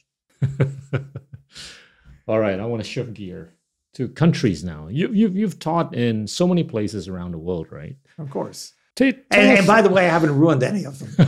All right, I want to shift gear to countries now. You've taught in so many places around the world, right? Of course. And by the way, I haven't ruined any of them.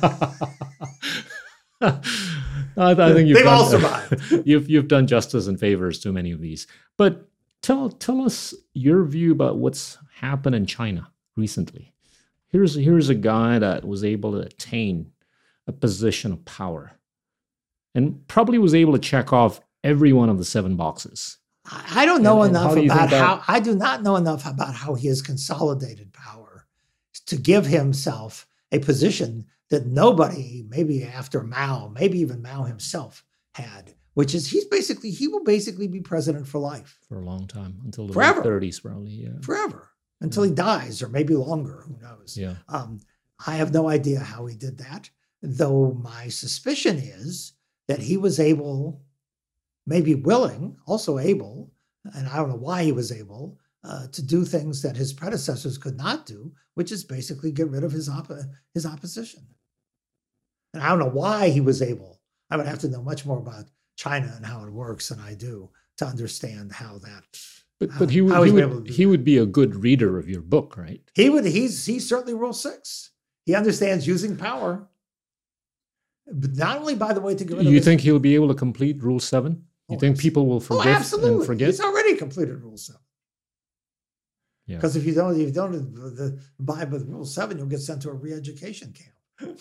I think they've all survived. You've done justice and favors to many of these. But tell us your view about what's happened in China recently. Here's a guy that was able to attain a position of power and probably was able to check off every one of the 7 boxes. I don't know enough about how. I do not know enough about how he has consolidated power to give himself a position that nobody, maybe after Mao, maybe even Mao himself, had, which is he will basically be president for life. For a long time, until the Forever. late 30s probably. Yeah. Forever. Until he dies, or maybe longer, who knows? Yeah. I have no idea how he did that, though my suspicion is that he was able, maybe willing, also able, and I don't know why he was able to do things that his predecessors could not do, which is basically get rid of his opposition. And I don't know why he was able. I would have to know much more about China and how it works than I do to understand how that. But he would be a good reader of your book, right? He's certainly Rule 6. He understands using power. But not only, by the way, to get rid of. You think he'll be able to complete Rule 7? You think people will forget and forget? He's already completed Rule 7. Yeah. Because if you don't abide with Rule 7, you'll get sent to a re-education camp.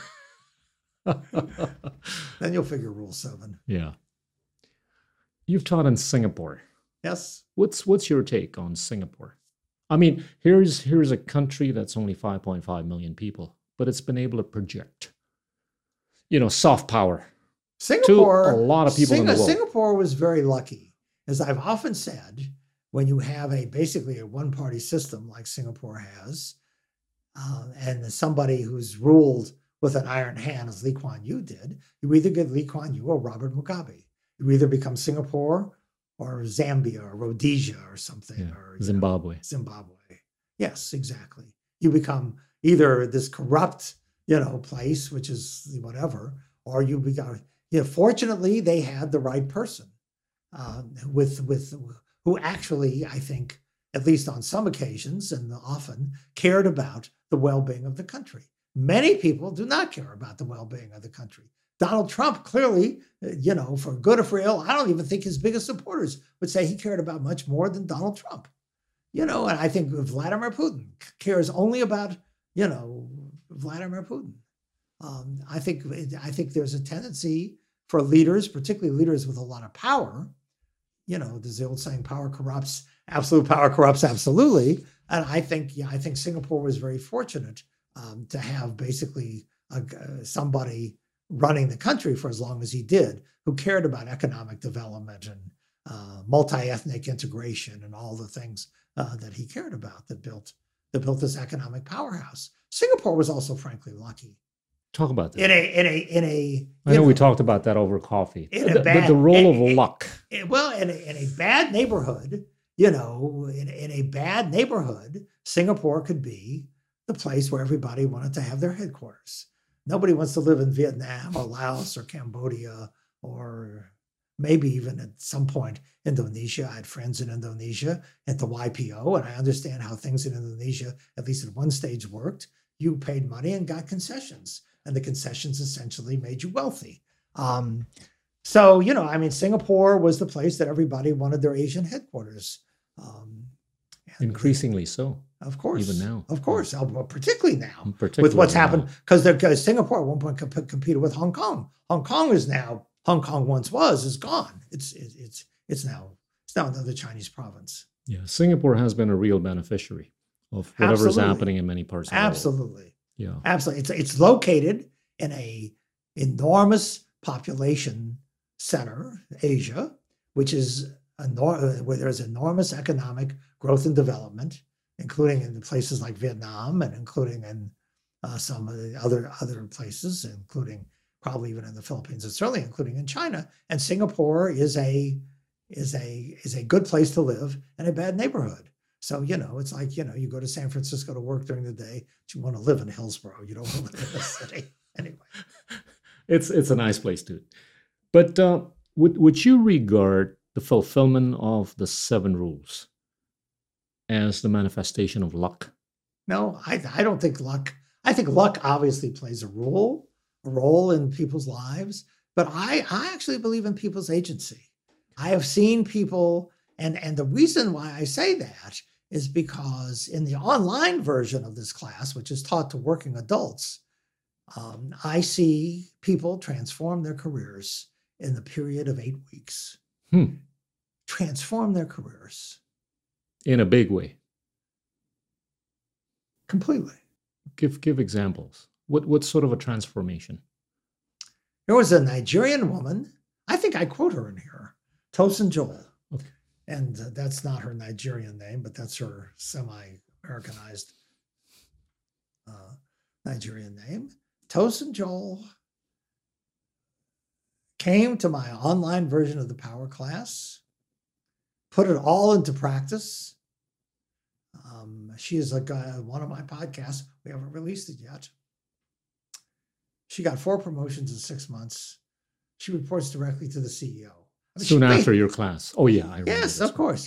Then you'll figure Rule 7. Yeah. You've taught in Singapore. Yes. What's your take on Singapore? I mean, here's a country that's only 5.5 million people, but it's been able to project, soft power. Singapore, to a lot of people in the world. Singapore was very lucky. As I've often said, when you have basically a one-party system like Singapore has, and somebody who's ruled with an iron hand as Lee Kuan Yew did, you either get Lee Kuan Yew or Robert Mugabe. You either become Singapore or Zambia or Rhodesia or something. Yeah. Or Zimbabwe. Zimbabwe. Yes, exactly. You become either this corrupt, place, which is whatever, or you become. Fortunately, they had the right person who actually, I think, at least on some occasions and often, cared about the well-being of the country. Many people do not care about the well-being of the country. Donald Trump clearly, for good or for ill, I don't even think his biggest supporters would say he cared about much more than Donald Trump. And I think Vladimir Putin cares only about, Vladimir Putin. I think there's a tendency for leaders, particularly leaders with a lot of power. There's the old saying, power corrupts, absolute power corrupts absolutely. And I think Singapore was very fortunate to have basically somebody running the country for as long as he did, who cared about economic development and multi-ethnic integration and all the things that he cared about that built this economic powerhouse. Singapore was also, frankly, lucky. Talk about that. I know we talked about that over coffee. But the role of luck. In a bad neighborhood, in a bad neighborhood, Singapore could be the place where everybody wanted to have their headquarters. Nobody wants to live in Vietnam or Laos or Cambodia or maybe even at some point Indonesia. I had friends in Indonesia at the YPO, and I understand how things in Indonesia, at least at one stage, worked. You paid money and got concessions, and the concessions essentially made you wealthy. Singapore was the place that everybody wanted their Asian headquarters. Increasingly so. Of course. Even now. Of course. Particularly now. With what's happened. Because Singapore at one point competed with Hong Kong. Hong Kong once was, is gone. It's now another Chinese province. Yeah. Singapore has been a real beneficiary of whatever is happening in many parts of the world. Absolutely. Yeah. Absolutely. It's located in a enormous population center, Asia, which is where there's enormous economic growth and development, including in places like Vietnam and including in some of the other places, including probably even in the Philippines and certainly including in China. And Singapore is a good place to live in a bad neighborhood. So, it's like, you go to San Francisco to work during the day, but you want to live in Hillsborough. You don't want to live in the city. Anyway. It's a nice place too. But would you regard the fulfillment of the 7 rules as the manifestation of luck? No, I don't think luck. I think luck obviously plays a role in people's lives, but I actually believe in people's agency. I have seen people, and the reason why I say that is because in the online version of this class, which is taught to working adults, I see people transform their careers in the period of 8 weeks. Transform their careers. In a big way. Completely. Give examples. What sort of a transformation? There was a Nigerian woman, I think I quote her in here, Tosin Joel. Okay. And that's not her Nigerian name, but that's her semi-Americanized Nigerian name. Tosin Joel came to my online version of the Power class put it all into practice. She is like one of my podcasts. We haven't released it yet. She got 4 promotions in 6 months. She reports directly to the CEO. Soon after your class. Oh, yeah. I remember Yes, this of course.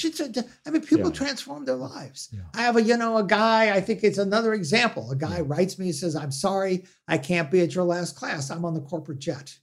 People Yeah. transform their lives. Yeah. I have a guy, I think it's another example. A guy writes me and says, I'm sorry, I can't be at your last class. I'm on the corporate jet,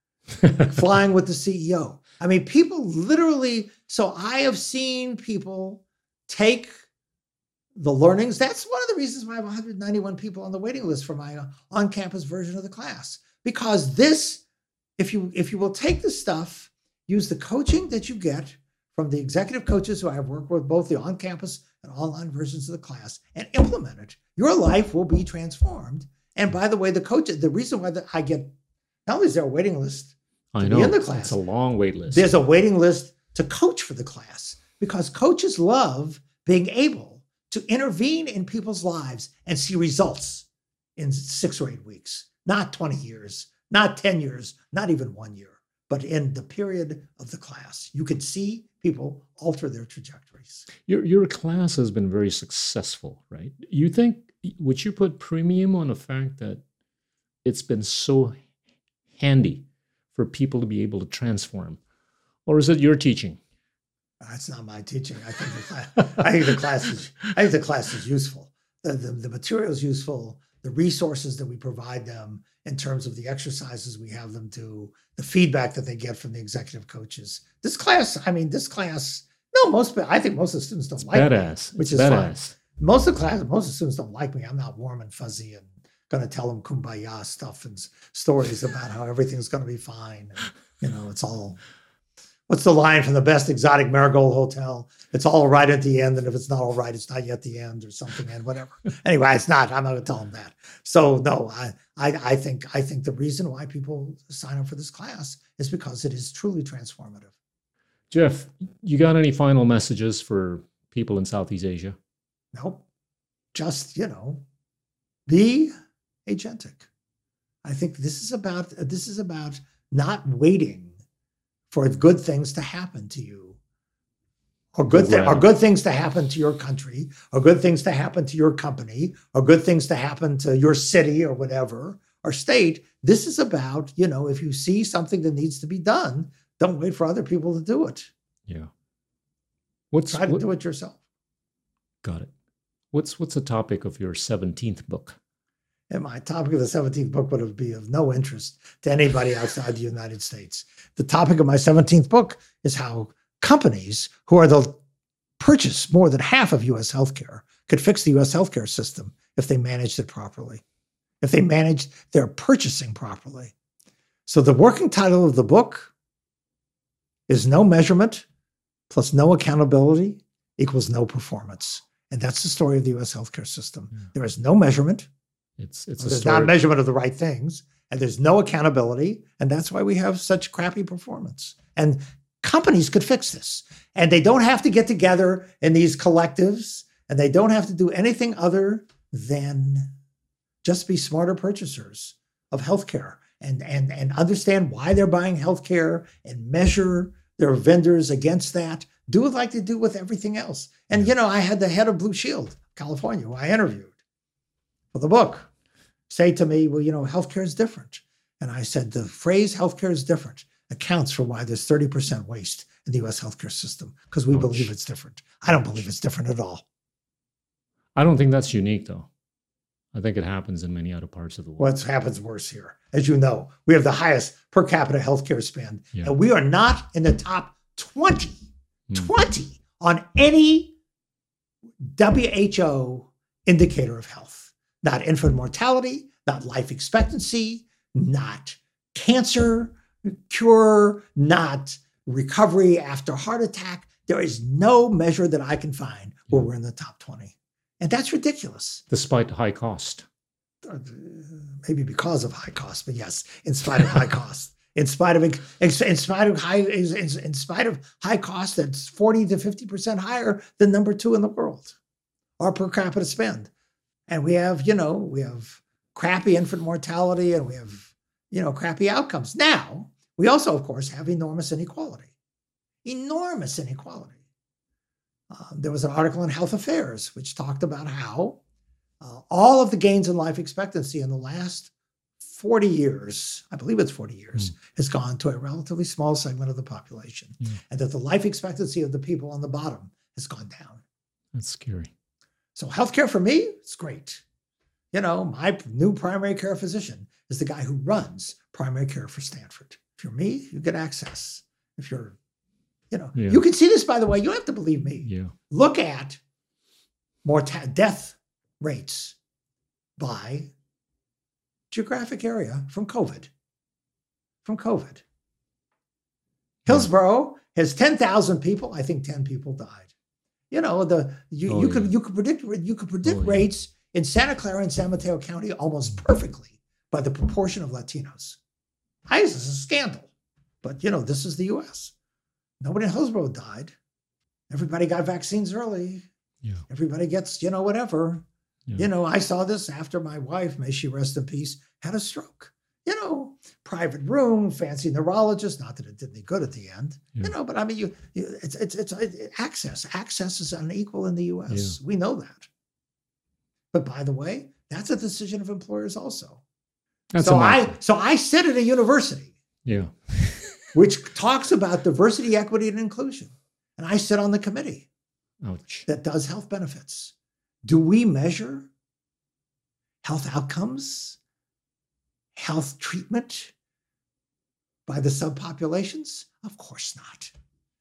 flying with the CEO. People literally, so I have seen people take the learnings. That's one of the reasons why I have 191 people on the waiting list for my on-campus version of the class. Because this, if you will take the stuff, use the coaching that you get from the executive coaches who I have worked with, both the on-campus and online versions of the class, and implement it, your life will be transformed. And by the way, the reason why I get, not only is there a waiting list I to know. be in the class, It's a long wait list. there's a waiting list to coach for the class, because coaches love being able to intervene in people's lives and see results in 6 or 8 weeks, not 20 years, not 10 years, not even 1 year, but in the period of the class. You can see people alter their trajectories. Your class has been very successful, right? Would you put premium on the fact that it's been so handy for people to be able to transform? Or is it your teaching? That's not my teaching. I think the class is useful. The material is useful. The resources that we provide them in terms of the exercises we have them do, the feedback that they get from the executive coaches. I think most of the students don't like Badass. me, which It's is badass. fine. Most of the students don't like me. I'm not warm and fuzzy and going to tell them kumbaya stuff and stories about how everything's going to be fine. And, it's all, what's the line from the best exotic marigold hotel? It's all right at the end. And if it's not all right, it's not yet the end or something, and whatever. Anyway, it's not. I'm not going to tell them that. So no, I think the reason why people sign up for this class is because it is truly transformative. Jeff, you got any final messages for people in Southeast Asia? Nope. Just, be agentic. I think this is about not waiting for good things to happen to you, or good things to happen to your country, or good things to happen to your company, or good things to happen to your city or whatever, or state. This is about, if you see something that needs to be done, don't wait for other people to do it. Yeah. Try to do it yourself. Got it. What's the topic of your 17th book? And my topic of the 17th book would be of no interest to anybody outside the United States. The topic of my 17th book is how companies who are purchase more than half of U.S. healthcare could fix the U.S. healthcare system if they managed it properly, if they managed their purchasing properly. So the working title of the book is No Measurement plus No Accountability equals No Performance. And that's the story of the U.S. healthcare system. Yeah. There is no measurement. There's not measurement of the right things, and there's no accountability, and that's why we have such crappy performance. And companies could fix this, and they don't have to get together in these collectives, and they don't have to do anything other than just be smarter purchasers of healthcare and understand why they're buying healthcare and measure their vendors against that. Do it like they do with everything else. And I had the head of Blue Shield, California, who I interviewed for the book, say to me, well, healthcare is different. And I said, the phrase healthcare is different accounts for why there's 30% waste in the U.S. healthcare system, because we believe it's different. I don't believe it's different at all. I don't think that's unique, though. I think it happens in many other parts of the world. What happens worse here? As you know, we have the highest per capita healthcare spend, and we are not in the top 20 on any WHO indicator of health. Not infant mortality, not life expectancy, not cancer cure, not recovery after heart attack. There is no measure that I can find where we're in the top 20. And that's ridiculous. Despite high cost. Maybe because of high cost, but yes, in spite of high cost. In spite of high cost, that's 40 to 50% higher than number 2 in the world, our per capita spend. And we have crappy infant mortality, and we have, crappy outcomes. Now, we also, of course, have enormous inequality. enormous inequality. There was an article in Health Affairs which talked about how all of the gains in life expectancy in the last 40 years, I believe it's 40 years, has gone to a relatively small segment of the population, and that the life expectancy of the people on the bottom has gone down. That's scary. So healthcare for me, it's great. You know, my new primary care physician is the guy who runs primary care for Stanford. If you're me, you get access. If you're, you can see this, by the way, you don't have to believe me. Yeah. Look at death rates by geographic area from COVID. Hillsborough has 10,000 people. I think 10 people died. You know, you could predict rates in Santa Clara and San Mateo County almost perfectly by the proportion of Latinos. This is a scandal, but this is the U.S. Nobody in Hillsborough died. Everybody got vaccines early. Yeah. Everybody gets whatever. Yeah. I saw this after my wife, may she rest in peace, had a stroke. Private room, fancy neurologist. Not that it did any good at the end. Yeah. But I mean, it's access. Access is unequal in the U.S. Yeah. We know that. But by the way, that's a decision of employers also. So I sit at a university, which talks about diversity, equity, and inclusion, and I sit on the committee that does health benefits. Do we measure health outcomes, health treatment by the subpopulations? Of course not.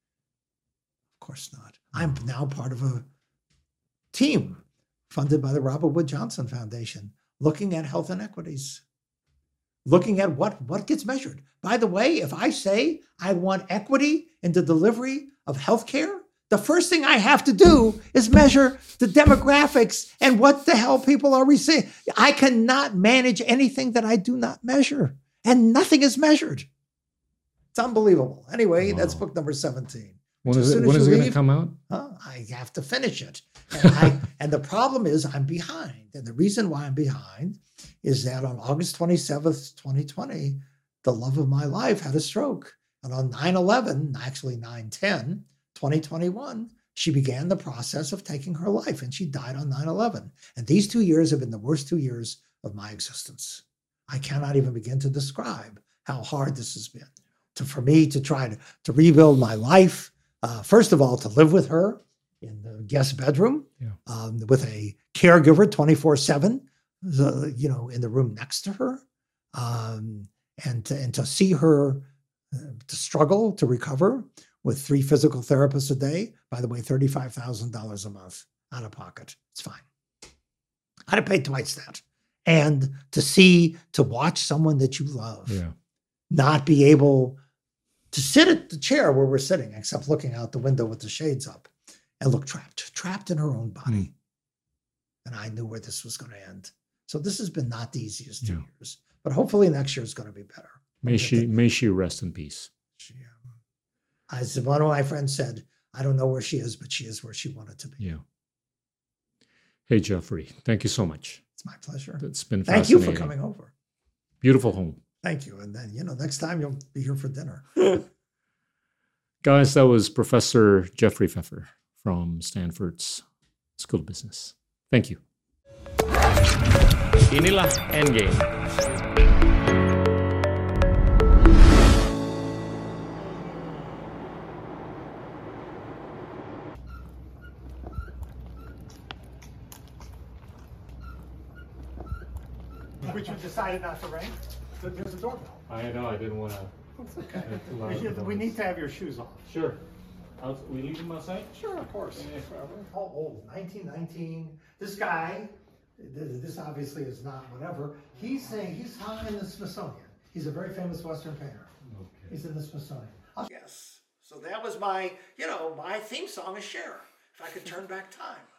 I'm now part of a team funded by the Robert Wood Johnson Foundation, looking at health inequities, looking at what gets measured. By the way, if I say I want equity in the delivery of healthcare, the first thing I have to do is measure the demographics and what the hell people are receiving. I cannot manage anything that I do not measure, and nothing is measured. It's unbelievable. Anyway, That's book number 17. When is it going to come out? I have to finish it. And the problem is I'm behind. And the reason why I'm behind is that on August 27th, 2020, the love of my life had a stroke. And on 9/11, actually 9/10, 2021, she began the process of taking her life, and she died on 9/11. And these 2 years have been the worst 2 years of my existence. I cannot even begin to describe how hard this has been for me to try to rebuild my life. First of all, to live with her in the guest bedroom, with a caregiver 24/7, in the room next to her, and to see her to struggle to recover with 3 physical therapists a day. By the way, $35,000 a month out of pocket. It's fine. I'd have paid twice that. And to watch someone that you love not be able to sit at the chair where we're sitting, except looking out the window with the shades up, and look trapped in her own body. And I knew where this was going to end. So this has been not the easiest 2 years, but hopefully next year is going to be better. May she rest in peace. As one of my friends said, I don't know where she is, but she is where she wanted to be. Yeah. Hey, Jeffrey, thank you so much. It's my pleasure. It's been fascinating. Thank you for coming over. Beautiful home. Thank you. And then, next time you'll be here for dinner. Guys, that was Professor Jeffrey Pfeffer from Stanford's School of Business. Thank you. Inilah Endgame. Which you decided not to ring. There's a doorbell. I know, I didn't want to. It's okay. We need to have your shoes off. Sure. We leave them outside? Sure, of course. How old? 1919. This guy, this obviously is not whatever. He's hung in the Smithsonian. He's a very famous Western painter. Okay. He's in the Smithsonian. Yes. So that was my theme song is Cher. If I could turn back time.